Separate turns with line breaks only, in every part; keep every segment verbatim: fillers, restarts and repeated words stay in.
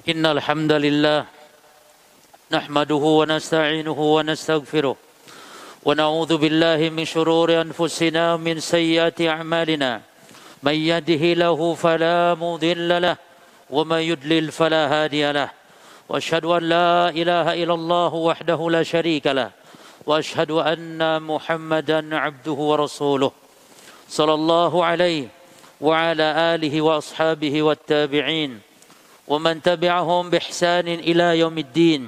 إن الحمد لله نحمده ونستعينه ونستغفره ونعوذ بالله من شرور أنفسنا ومن سيئات أعمالنا من يهده له فلا مضل له ومن يضلل فلا هادي له وأشهد أن لا إله إلا الله وحده لا شريك له وأشهد أن محمدا عبده ورسوله صلى الله عليه وعلى آله وأصحابه والتابعين ومن تبعهم بإحسان إلى يوم الدين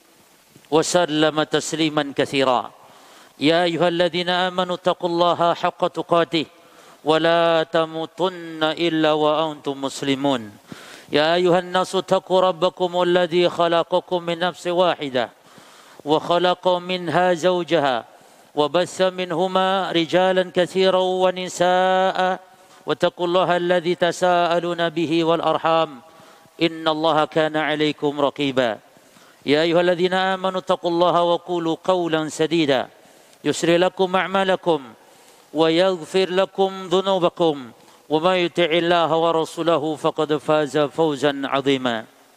وسلم تسليما كثيرا يا أيها الذين آمنوا اتقوا الله حق تقاته ولا تموتن إلا وأنتم مسلمون يا أيها الناس اتقوا ربكم الذي خلقكم من نفس واحدة وخلق منها زوجها وبث منهما رجالا كثيرا ونساء واتقوا الله الذي تساءلون به والأرحام إن الله كان عليكم رقيبا يا أيها الذين آمنوا اتقوا الله وقولوا قولا سديدا يسر لكم أعمالكم ويغفر لكم ذنوبكم وما يطع الله ورسوله فقد فاز فوزا عظيما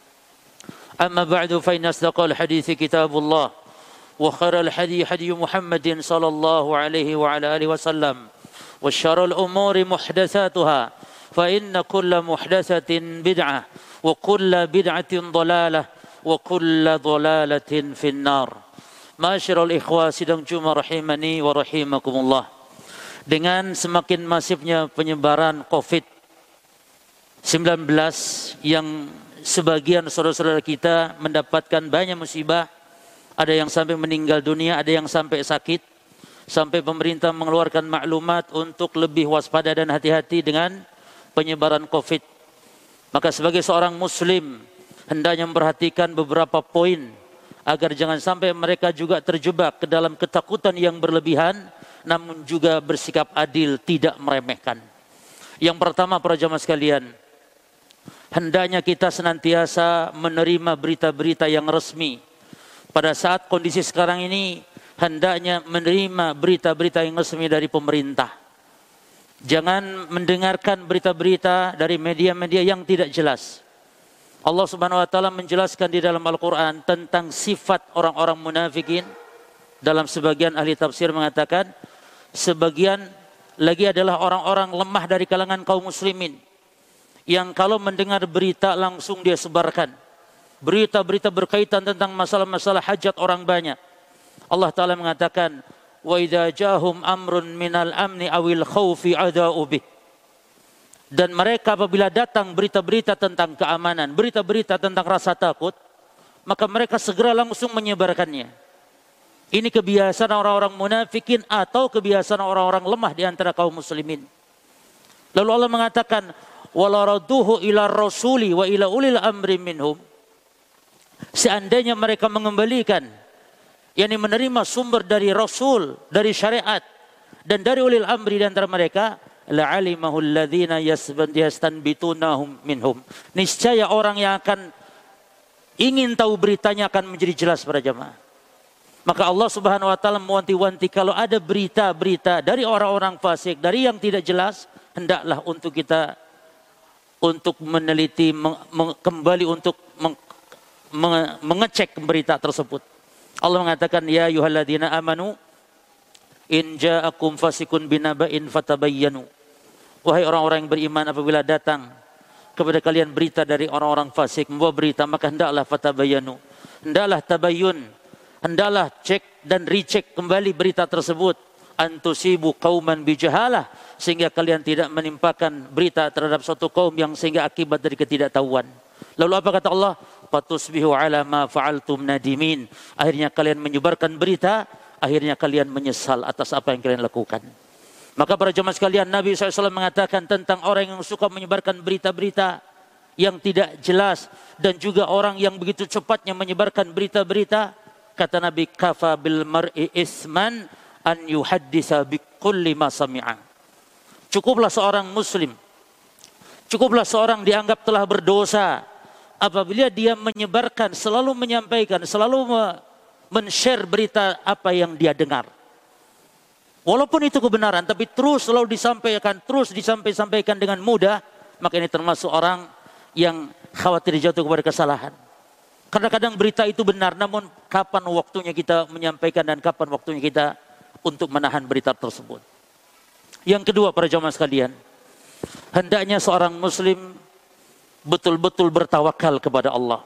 أما بعد فإن أصدق الحديث كتاب الله وخير الحديث حديث محمد صلى الله عليه وعلى آله وسلم وشر الأمور محدثاتها فإن كل محدثة بدعة وكل بدعة ضلالة وكل ضلالة في النار. Ma'asyiral ikhwah sidang Jumat rahimani wa rahimakumullah. Dengan semakin masifnya penyebaran covid sembilan belas yang sebagian saudara-saudara kita mendapatkan banyak musibah, ada yang sampai meninggal dunia, ada yang sampai sakit, sampai pemerintah mengeluarkan maklumat untuk lebih waspada dan hati-hati dengan penyebaran covid. Maka sebagai seorang muslim hendaknya memperhatikan beberapa poin agar jangan sampai mereka juga terjebak ke dalam ketakutan yang berlebihan, namun juga bersikap adil, tidak meremehkan. Yang pertama, para jamaah sekalian, hendaknya kita senantiasa menerima berita-berita yang resmi. Pada saat kondisi sekarang ini, hendaknya menerima berita-berita yang resmi dari pemerintah. Jangan mendengarkan berita-berita dari media-media yang tidak jelas. Allah Subhanahu wa taala menjelaskan di dalam Al-Qur'an tentang sifat orang-orang munafikin. Dalam sebagian ahli tafsir mengatakan sebagian lagi adalah orang-orang lemah dari kalangan kaum muslimin yang kalau mendengar berita langsung dia sebarkan. Berita-berita berkaitan tentang masalah-masalah hajat orang banyak. Allah taala mengatakan wa idza jahum amrun minal amni awil khaufi adau bih. Dan mereka apabila datang berita-berita tentang keamanan, berita-berita tentang rasa takut, maka mereka segera langsung menyebarkannya. Ini kebiasaan orang-orang munafikin atau kebiasaan orang-orang lemah di antara kaum muslimin. Lalu Allah mengatakan wala radduhu ila rasuli wa ila ulil amri minhum. Seandainya mereka mengembalikan, yakni menerima sumber dari Rasul, dari syariat, dan dari ulil amri di antara mereka, la'alimahu alladhina yastanbitunahum minhum. Niscaya orang yang akan ingin tahu beritanya akan menjadi jelas para jamaah. Maka Allah Subhanahu wa taala mewanti-wanti kalau ada berita-berita dari orang-orang fasik, dari yang tidak jelas, hendaklah untuk kita untuk meneliti, meng, meng, kembali untuk meng, meng, mengecek berita tersebut. Allah mengatakan ya ayyuhalladzina amanu in ja'akum fasikun binaba'in fatabayyanu. Wahai orang-orang yang beriman, apabila datang kepada kalian berita dari orang-orang fasik, membawa berita, maka hendaklah fatabayyanu. Hendaklah tabayyun. Hendaklah cek dan recheck kembali berita tersebut. Antusibu qauman bijahalah, sehingga kalian tidak menimpakan berita terhadap suatu kaum yang sehingga akibat dari ketidaktahuan. Lalu apa kata Allah? Fatusbihu ala ma fa'altum nadimin. Akhirnya kalian menyebarkan berita, akhirnya kalian menyesal atas apa yang kalian lakukan. Maka para jemaah sekalian, Nabi shallallahu alaihi wasallam mengatakan tentang orang yang suka menyebarkan berita-berita yang tidak jelas dan juga orang yang begitu cepatnya menyebarkan berita-berita, kata Nabi, kafa bil mar'i isman an yuhaddisa bi kulli ma sami'a. Cukuplah seorang muslim, cukuplah seorang dianggap telah berdosa apabila dia menyebarkan, selalu menyampaikan, selalu men-share berita apa yang dia dengar. Walaupun itu kebenaran, tapi terus selalu disampaikan, terus disampaikan dengan mudah, maka ini termasuk orang yang khawatir jatuh kepada kesalahan. Kadang-kadang berita itu benar, namun kapan waktunya kita menyampaikan dan kapan waktunya kita untuk menahan berita tersebut. Yang kedua, para jamaah sekalian, hendaknya seorang muslim betul-betul bertawakal kepada Allah.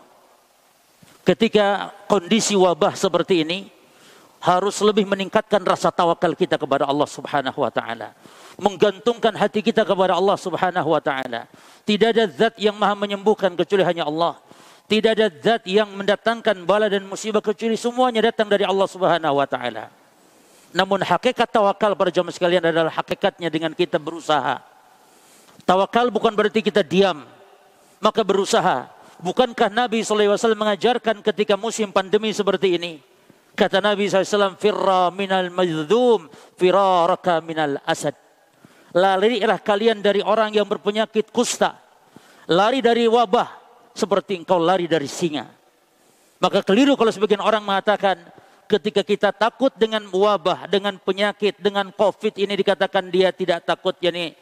Ketika kondisi wabah seperti ini, harus lebih meningkatkan rasa tawakal kita kepada Allah Subhanahu wa taala. Menggantungkan hati kita kepada Allah Subhanahu wa taala. Tidak ada zat yang maha menyembuhkan kecuali hanya Allah. Tidak ada zat yang mendatangkan bala dan musibah kecuali semuanya datang dari Allah Subhanahu wa taala. Namun hakikat tawakal para jamaah sekalian adalah hakikatnya dengan kita berusaha. Tawakal bukan berarti kita diam, maka berusaha. Bukankah Nabi shallallahu alaihi wasallam mengajarkan ketika musim pandemi seperti ini? Kata Nabi shallallahu alaihi wasallam, firra minal majdhum, firaraka minal asad. Larilah kalian dari orang yang berpenyakit kusta. Lari dari wabah seperti engkau lari dari singa. Maka keliru kalau sebagian orang mengatakan ketika kita takut dengan wabah, dengan penyakit, dengan COVID ini dikatakan dia tidak takut yakni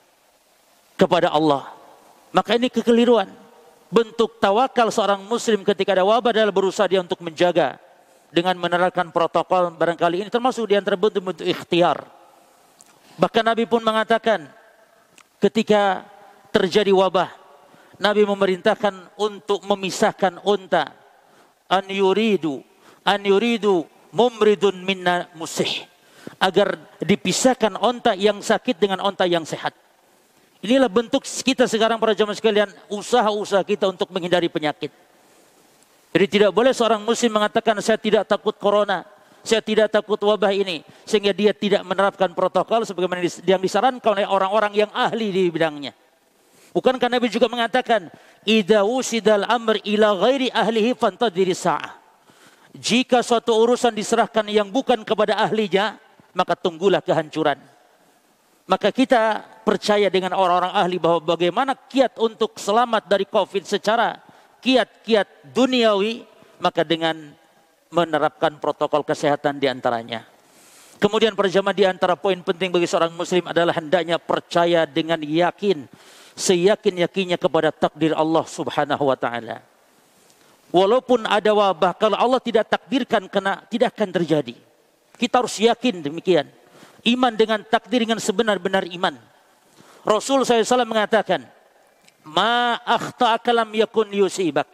kepada Allah. Maka ini kekeliruan. Bentuk tawakal seorang muslim ketika ada wabah adalah berusaha dia untuk menjaga dengan menerapkan protokol barangkali ini termasuk di antara bentuk-bentuk ikhtiar. Bahkan Nabi pun mengatakan ketika terjadi wabah, Nabi memerintahkan untuk memisahkan unta. An yuridu, an yuridu mumridun minna musih. Agar dipisahkan unta yang sakit dengan unta yang sehat. Inilah bentuk kita sekarang para jamaah sekalian, usaha-usaha kita untuk menghindari penyakit. Jadi tidak boleh seorang muslim mengatakan saya tidak takut corona, saya tidak takut wabah ini, sehingga dia tidak menerapkan protokol sebagaimana yang disarankan oleh orang-orang yang ahli di bidangnya. Bukankah Nabi juga mengatakan, idza usidal amr ila ghairi ahlihi fantadhiri sa'ah. Jika suatu urusan diserahkan yang bukan kepada ahlinya, maka tunggulah kehancuran. Maka kita percaya dengan orang-orang ahli bahwa bagaimana kiat untuk selamat dari COVID secara kiat-kiat duniawi, maka dengan menerapkan protokol kesehatan diantaranya. Kemudian para jamaah, di antara poin penting bagi seorang muslim adalah hendaknya percaya dengan yakin, seyakin-yakinnya kepada takdir Allah Subhanahu wa taala. Walaupun ada wabah, kalau Allah tidak takdirkan kena, tidak akan terjadi. Kita harus yakin demikian. Iman dengan takdir dengan sebenar-benar iman. Rasul shallallahu alaihi wasallam mengatakan, ma akhta'aka lam yakun yusibak,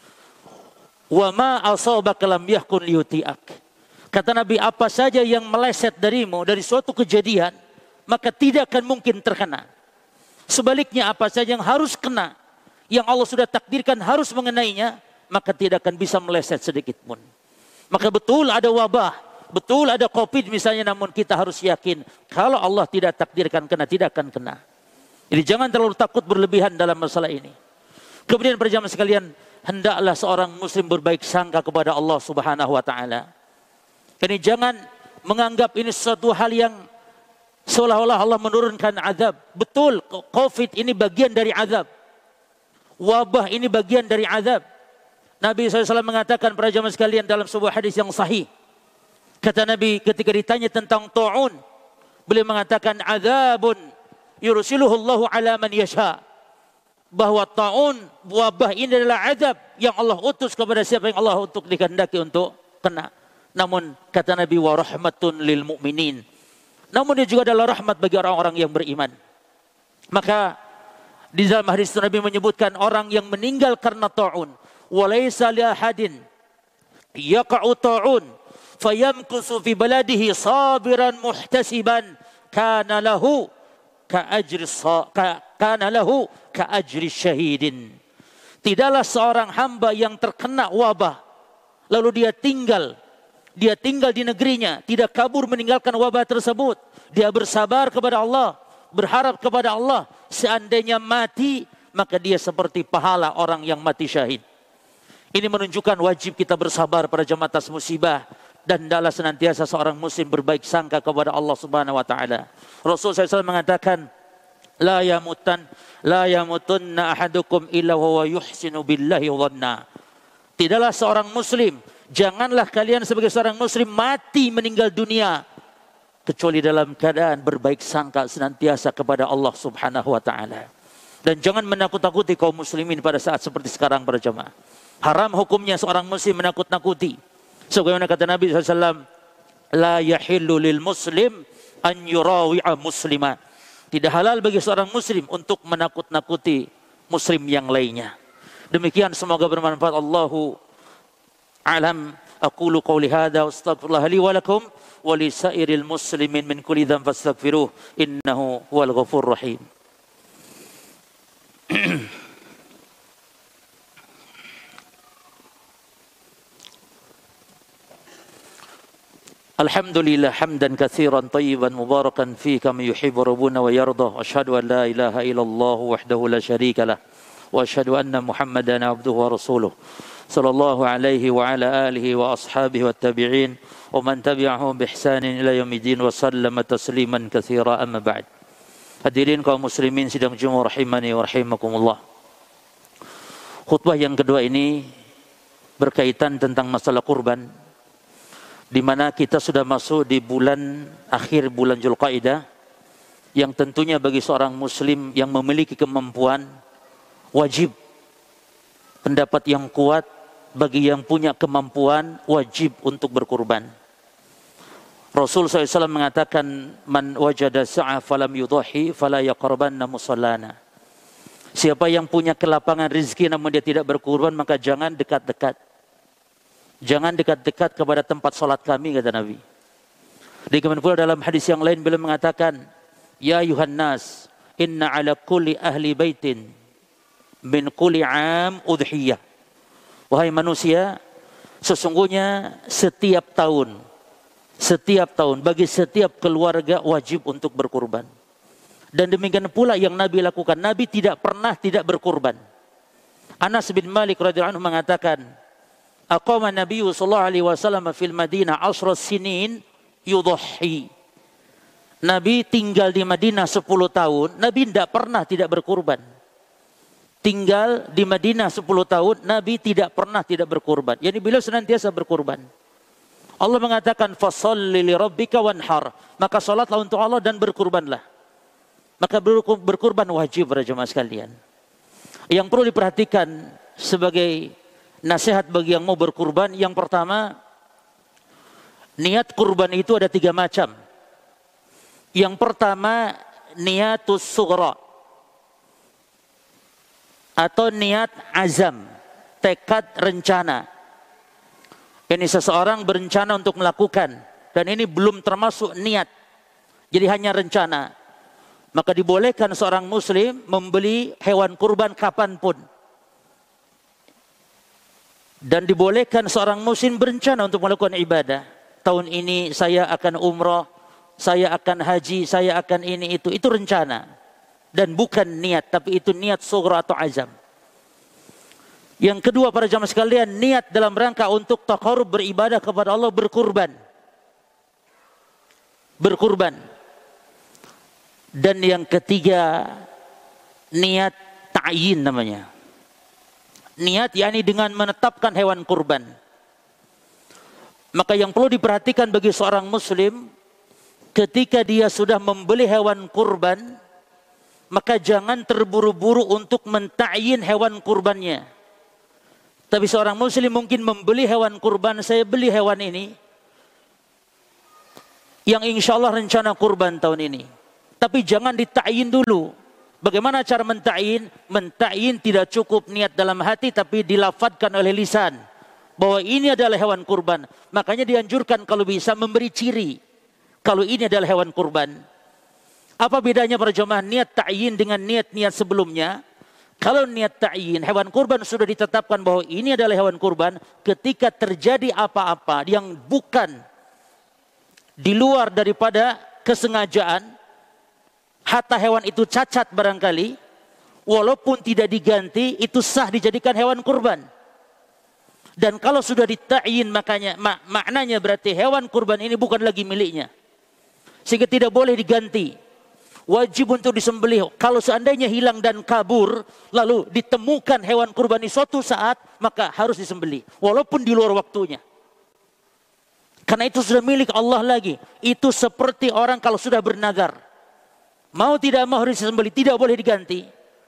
wa ma asabaka lam yakun yuti'ak. Kata Nabi, apa saja yang meleset darimu dari suatu kejadian, maka tidak akan mungkin terkena. Sebaliknya, apa saja yang harus kena, yang Allah sudah takdirkan harus mengenainya, maka tidak akan bisa meleset sedikit pun. Maka betul ada wabah, betul ada COVID misalnya, namun kita harus yakin kalau Allah tidak takdirkan kena, tidak akan kena. Jadi jangan terlalu takut berlebihan dalam masalah ini. Kemudian para jamaah sekalian, hendaklah seorang muslim berbaik sangka kepada Allah Subhanahu wa taala. Jadi jangan menganggap ini sesuatu hal yang seolah-olah Allah menurunkan azab. Betul, COVID ini bagian dari azab. Wabah ini bagian dari azab. Nabi shallallahu alaihi wasallam mengatakan para jamaah sekalian dalam sebuah hadis yang sahih. Kata Nabi ketika ditanya tentang ta'un, beliau mengatakan azabun yursiluhu Allahu ala man yasha. Bahwa ta'un, wabah ini adalah azab yang Allah utus kepada siapa yang Allah untuk dikehendaki untuk kena. Namun kata Nabi, wa rahmatun lil mu'minin. Namun dia juga adalah rahmat bagi orang-orang yang beriman. Maka di dalam hadis Nabi menyebutkan orang yang meninggal karena ta'un, wa laysa li ahadin yaqa'u ta'un fayamkusu fi baladihi sabiran muhtasiban kana lahu ka ajri ka, kana lahu ka ajri syahidin. Tidaklah seorang hamba yang terkena wabah lalu dia tinggal dia tinggal di negerinya, tidak kabur meninggalkan wabah tersebut, dia bersabar kepada Allah, berharap kepada Allah, seandainya mati maka dia seperti pahala orang yang mati syahid. Ini menunjukkan wajib kita bersabar pada jamaah atas musibah. Dan hendaklah senantiasa seorang muslim berbaik sangka kepada Allah Subhanahu wa taala. Rasul shallallahu alaihi wasallam mengatakan, la yamutan la yamutunna ahadukum illa wa yuhsinu billahi dhanna. Tidaklah seorang muslim, janganlah kalian sebagai seorang muslim mati meninggal dunia kecuali dalam keadaan berbaik sangka senantiasa kepada Allah Subhanahu wa taala. Dan jangan menakut-nakuti kaum muslimin pada saat seperti sekarang para jamaah. Haram hukumnya seorang muslim menakut-nakuti. Sebagaimana kata Nabi shallallahu alaihi wasallam, la yahillu lil muslim an yurawi'a muslima. Tidak halal bagi seorang muslim untuk menakut-nakuti muslim yang lainnya. Demikian, semoga bermanfaat. Allahu a'lam. Aqulu qawli hadza wa astaghfirullah li wa lakum wa li sairil muslimin min kulli dhanbin fastaghfiruh innahu huwal ghafurur rahim. Alhamdulillah hamdan katsiran tayyiban mubarakan fi kama yuhibbu rabbuna wa yarda. Asyhadu an la ilaha illallah wahdahu la syarika lah wa asyhadu anna Muhammadan abduhu wa rasuluh. Sallallahu alaihi wa ala alihi wa ashabihi wa tabi'in wa man tabi'ahum bi ihsanin ila yaumiddin wa sallama tasliman katsira, amma ba'd. Hadirin kaum muslimin sidang Jumat rahimani wa rahimakumullah. Khutbah yang kedua ini berkaitan tentang masalah kurban, di mana kita sudah masuk di bulan akhir bulan Dzulqa'dah, yang tentunya bagi seorang muslim yang memiliki kemampuan wajib, pendapat yang kuat bagi yang punya kemampuan wajib untuk berkurban. Rasul shallallahu alaihi wasallam mengatakan, man wajada sa'a falam yudhahi fala yaqrabanna musallana. Siapa yang punya kelapangan rezeki namun dia tidak berkurban, maka jangan dekat-dekat. Jangan dekat-dekat kepada tempat salat kami, kata Nabi. Demikian pula dalam hadis yang lain beliau mengatakan, ya ayuhan nas, inna ala kulli ahli baitin min kulli am udhiyah. Wahai manusia, sesungguhnya setiap tahun, setiap tahun bagi setiap keluarga wajib untuk berkurban. Dan demikian pula yang Nabi lakukan. Nabi tidak pernah tidak berkurban. Anas bin Malik radhiyallahu anhu mengatakan, aqama Nabi sallallahu alaihi wasallam fil Madinah ashra sinin yudhhi. Nabi tinggal di Madinah sepuluh tahun, Nabi tidak pernah tidak berkurban. Tinggal di Madinah sepuluh tahun, Nabi tidak pernah tidak berkurban. Yani beliau senantiasa berkurban. Allah mengatakan, fasholli li rabbika wanhar. Maka salatlah untuk Allah dan berkurbanlah. Maka berkurban wajib para jemaah sekalian. Yang perlu diperhatikan sebagai nasihat bagi yang mau berkurban, yang pertama, niat kurban itu ada tiga macam. Yang pertama, niatus sughra atau niat azam, tekad rencana. Ini seseorang berencana untuk melakukan, dan ini belum termasuk niat, jadi hanya rencana. Maka dibolehkan seorang muslim membeli hewan kurban kapanpun. Dan dibolehkan seorang muslim berencana untuk melakukan ibadah. Tahun ini saya akan umrah, saya akan haji, saya akan ini itu. Itu rencana. Dan bukan niat, tapi itu niat sughra atau azam. Yang kedua para jamaah sekalian, niat dalam rangka untuk taqarrub beribadah kepada Allah, berkurban. Berkurban. Dan yang ketiga, niat ta'yin namanya. Niat yakni dengan menetapkan hewan kurban. Maka yang perlu diperhatikan bagi seorang muslim, ketika dia sudah membeli hewan kurban, maka jangan terburu-buru untuk menta'yin hewan kurbannya. Tapi seorang muslim mungkin membeli hewan kurban, saya beli hewan ini yang insya Allah rencana kurban tahun ini. Tapi jangan dita'yin dulu. Bagaimana cara menta'yin? Menta'yin tidak cukup niat dalam hati, tapi dilafadkan oleh lisan bahwa ini adalah hewan kurban. Makanya dianjurkan kalau bisa memberi ciri kalau ini adalah hewan kurban. Apa bedanya para jemaah niat ta'yin dengan niat-niat sebelumnya? Kalau niat ta'yin, hewan kurban sudah ditetapkan bahwa ini adalah hewan kurban, ketika terjadi apa-apa yang bukan di luar daripada kesengajaan, hatta hewan itu cacat barangkali, walaupun tidak diganti, itu sah dijadikan hewan kurban. Dan kalau sudah dita'yin, makanya mak, maknanya berarti hewan kurban ini bukan lagi miliknya, sehingga tidak boleh diganti. Wajib untuk disembelih. Kalau seandainya hilang dan kabur, lalu ditemukan hewan kurban ini suatu saat, maka harus disembelih, walaupun di luar waktunya. Karena itu sudah milik Allah lagi. Itu seperti orang kalau sudah bernazar, mau tidak mau harus disembelih, tidak boleh diganti.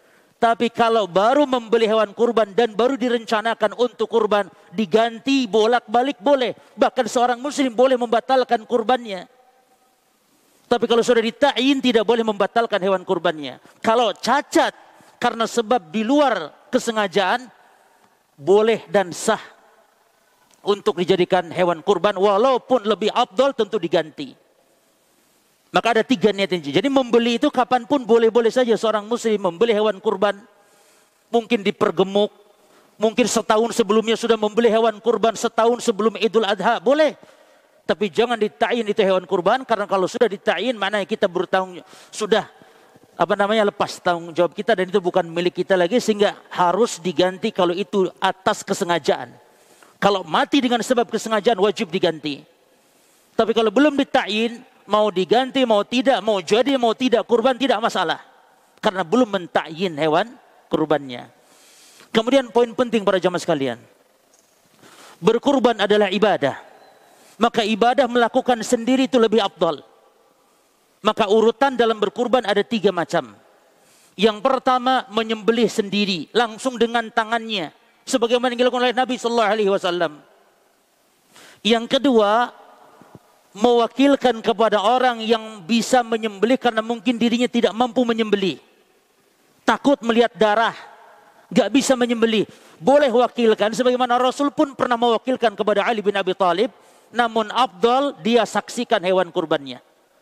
Tapi kalau baru membeli hewan kurban dan baru direncanakan untuk kurban, diganti bolak-balik boleh. Bahkan seorang muslim boleh membatalkan kurbannya. Tapi kalau sudah dita'yin tidak boleh membatalkan hewan kurbannya. Kalau cacat karena sebab di luar kesengajaan, boleh dan sah untuk dijadikan hewan kurban, walaupun lebih afdal tentu diganti. Maka ada tiga niat ini. Jadi membeli itu kapanpun boleh-boleh saja seorang muslim membeli hewan kurban. Mungkin dipergemuk, mungkin setahun sebelumnya sudah membeli hewan kurban, setahun sebelum Idul Adha, boleh. Tapi jangan dita'yin itu hewan kurban, karena kalau sudah dita'yin maknanya kita bertanggung sudah apa namanya lepas tanggung jawab kita dan itu bukan milik kita lagi, sehingga harus diganti kalau itu atas kesengajaan. Kalau mati dengan sebab kesengajaan wajib diganti. Tapi kalau belum dita'yin, mau diganti, mau tidak, mau jadi, mau tidak, kurban tidak masalah. Karena belum mentakyin hewan kurbannya. Kemudian poin penting para jamaah sekalian. Berkurban adalah ibadah. Maka ibadah melakukan sendiri itu lebih afdal. Maka urutan dalam berkurban ada tiga macam. Yang pertama menyembelih sendiri, langsung dengan tangannya. Sebagaimana yang dilakukan oleh Nabi Sallallahu Alaihi Wasallam. Yang kedua, mewakilkan kepada orang yang bisa menyembelih karena mungkin dirinya tidak mampu menyembelih. Takut melihat darah, gak bisa menyembelih. Boleh wakilkan, sebagaimana Rasul pun pernah mewakilkan kepada Ali bin Abi Thalib. Namun afdal dia saksikan hewan kurbannya.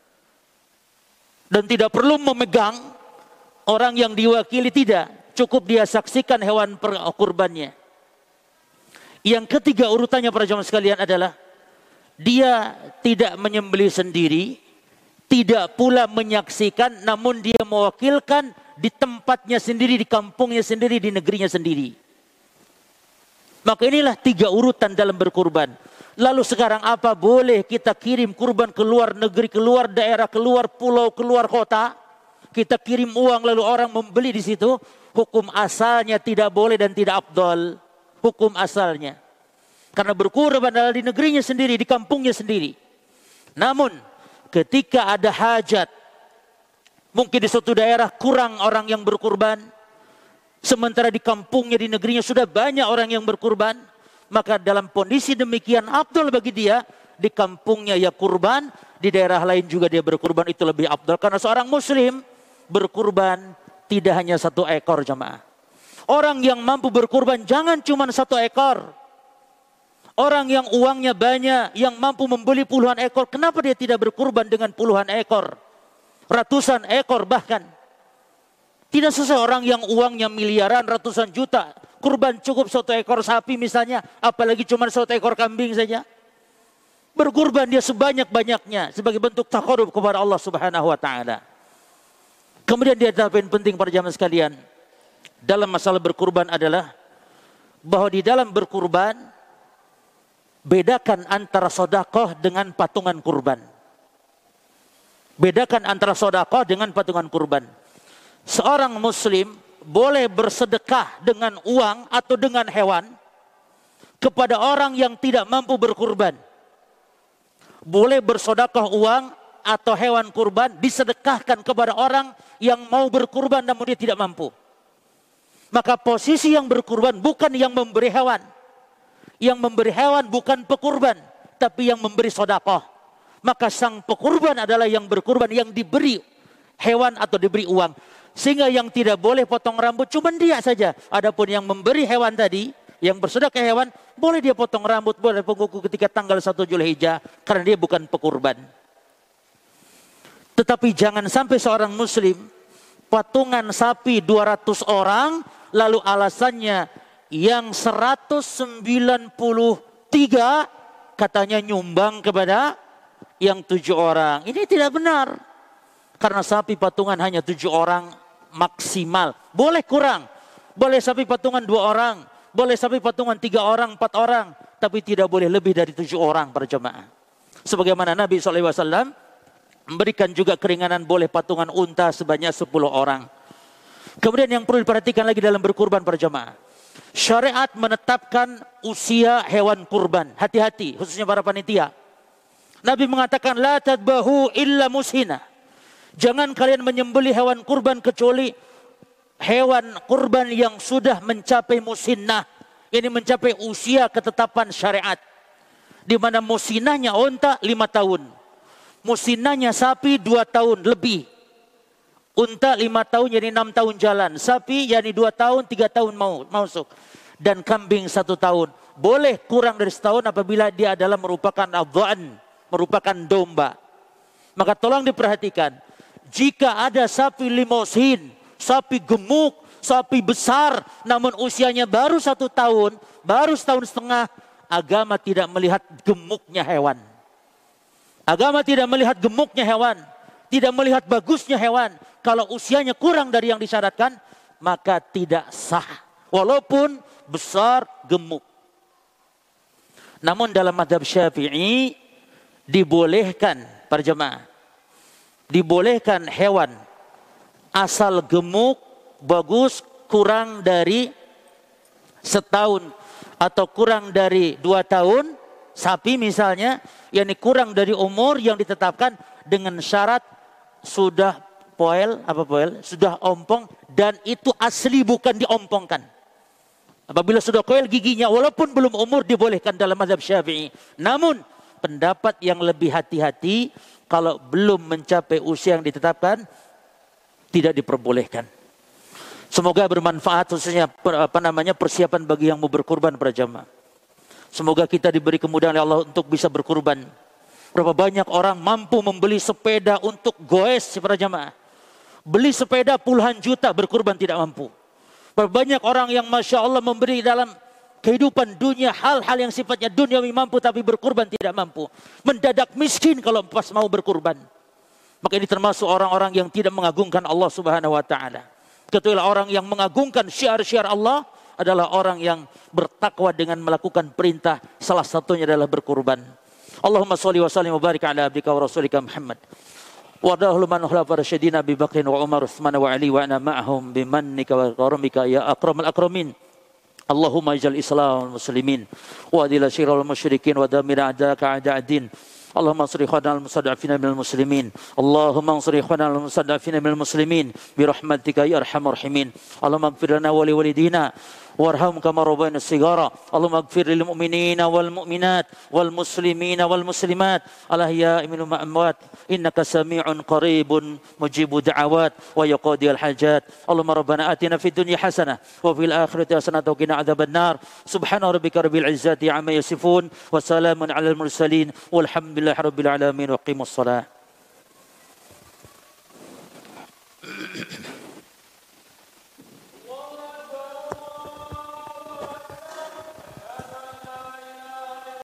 Dan tidak perlu memegang orang yang diwakili, tidak. Cukup dia saksikan hewan kurbannya. Yang ketiga urutannya para jamaah sekalian adalah dia tidak menyembelih sendiri, tidak pula menyaksikan, namun dia mewakilkan di tempatnya sendiri, di kampungnya sendiri, di negerinya sendiri. Maka inilah tiga urutan dalam berkurban. Lalu sekarang apa boleh kita kirim kurban ke luar negeri, keluar daerah, keluar pulau, keluar kota? Kita kirim uang lalu orang membeli di situ. Hukum asalnya tidak boleh dan tidak afdal. Hukum asalnya. Karena berkurban adalah di negerinya sendiri, di kampungnya sendiri. Namun ketika ada hajat, mungkin di suatu daerah kurang orang yang berkurban, sementara di kampungnya, di negerinya sudah banyak orang yang berkurban, maka dalam kondisi demikian afdal bagi dia di kampungnya ya kurban, di daerah lain juga dia berkurban, itu lebih afdal. Karena seorang muslim berkurban tidak hanya satu ekor jamaah. Orang yang mampu berkurban jangan cuma satu ekor. Orang yang uangnya banyak, yang mampu membeli puluhan ekor, kenapa dia tidak berkurban dengan puluhan ekor? Ratusan ekor bahkan. Tidak seseorang yang uangnya miliaran, ratusan juta. Kurban cukup satu ekor sapi misalnya, apalagi cuma satu ekor kambing saja. Berkurban dia sebanyak-banyaknya sebagai bentuk taqarrub kepada Allah Subhanahu wa taala. Kemudian dia ada poin penting para jamaah sekalian dalam masalah berkurban adalah bahwa di dalam berkurban bedakan antara sedekah dengan patungan kurban. Bedakan antara sedekah dengan patungan kurban. Seorang muslim boleh bersedekah dengan uang atau dengan hewan kepada orang yang tidak mampu berkurban. Boleh bersedekah uang atau hewan kurban disedekahkan kepada orang yang mau berkurban namun dia tidak mampu. Maka posisi yang berkurban bukan yang memberi hewan. Yang memberi hewan bukan pekurban, tapi yang memberi sedekah. Maka sang pekurban adalah yang berkurban, yang diberi hewan atau diberi uang. Sehingga yang tidak boleh potong rambut cuma dia saja. Adapun yang memberi hewan tadi, yang bersedekah hewan, boleh dia potong rambut, boleh penguku ketika tanggal satu Zulhijjah, karena dia bukan pekurban. Tetapi jangan sampai seorang muslim patungan sapi dua ratus orang, lalu alasannya yang seratus sembilan puluh tiga katanya nyumbang kepada yang tujuh orang. Ini tidak benar. Karena sapi patungan hanya tujuh orang maksimal. Boleh kurang. Boleh sapi patungan dua orang. Boleh sapi patungan tiga orang, empat orang. Tapi tidak boleh lebih dari tujuh orang para jemaah. Sebagaimana Nabi shallallahu alaihi wasallam memberikan juga keringanan boleh patungan unta sebanyak sepuluh orang. Kemudian yang perlu diperhatikan lagi dalam berkurban para jemaah. Syariat menetapkan usia hewan kurban. Hati-hati khususnya para panitia. Nabi mengatakan la tadbahu illa mushina. Jangan kalian menyembelih hewan kurban kecuali hewan kurban yang sudah mencapai musinnah, ini mencapai usia ketetapan syariat, di mana musinnahnya unta lima tahun, musinnahnya sapi dua tahun lebih. Unta lima tahun jadi enam tahun jalan, sapi jadi dua tahun tiga tahun mau masuk, dan kambing satu tahun. Boleh kurang dari setahun apabila dia adalah merupakan adhan, merupakan domba. Maka tolong diperhatikan, jika ada sapi limousin, sapi gemuk, sapi besar, namun usianya baru satu tahun, baru setahun setengah, agama tidak melihat gemuknya hewan. Agama tidak melihat gemuknya hewan, tidak melihat bagusnya hewan. Kalau usianya kurang dari yang disyaratkan, maka tidak sah. Walaupun besar gemuk. Namun dalam mazhab Syafi'i dibolehkan, para jemaah, dibolehkan hewan asal gemuk, bagus, kurang dari setahun atau kurang dari dua tahun, sapi misalnya, yakni kurang dari umur yang ditetapkan dengan syarat sudah poel, apa poel, sudah ompong, dan itu asli bukan diompongkan. Apabila sudah koel giginya, walaupun belum umur, dibolehkan dalam mazhab Syafi'i. Namun pendapat yang lebih hati-hati, kalau belum mencapai usia yang ditetapkan, tidak diperbolehkan. Semoga bermanfaat, khususnya apa namanya persiapan bagi yang mau berkurban para jamaah. Semoga kita diberi kemudahan oleh Allah untuk bisa berkurban. Berapa banyak orang mampu membeli sepeda untuk goes para jamaah. Beli sepeda puluhan juta, berkurban tidak mampu. Berapa banyak orang yang Masya Allah memberi dalam kehidupan dunia hal-hal yang sifatnya duniawi mampu, tapi berkurban tidak mampu. Mendadak miskin kalau pas mau berkurban. Maka ini termasuk orang-orang yang tidak mengagungkan Allah Subhanahu wa taala. Ketulah orang yang mengagungkan syiar-syiar Allah adalah orang yang bertakwa dengan melakukan perintah, salah satunya adalah berkurban. Allahumma sholli wa sallim wa barik ala abdika wa rasulika Muhammad. Wadahlu man khulafa rasyidin Abi Bakr wa Umar Utsman wa Ali wa ana ma'ahum bimannika wa karamika ya akramal akramin. Allahumma ij'al Islam wal muslimin wa adil syirral musyrikin wa damir a'daka a'da'ad-din. Allahumma ansur ikhwanal mustad'afina minal muslimin. Allahumma ansur ikhwanal mustad'afina minal muslimin bi rahmatika ya arhamar rahimin. Allahumma ighfir lana wa li walidina warham kama rabbayana sigara. Allahumma ighfir lil mu'minina wal mu'minat wal muslimina wal muslimat al ahya'i minhum amwat innaka sami'un qaribun mujibud da'awat wa yaqdiyal hajat. Allahumma rabbana atina fid dunya hasanah wa fil akhirati hasanah wa qina adzabannar. Subhana rabbika rabbil izzati amma yasifun wa salamun alal mursalin walhamdulillahi rabbil alamin wa qimus shalah.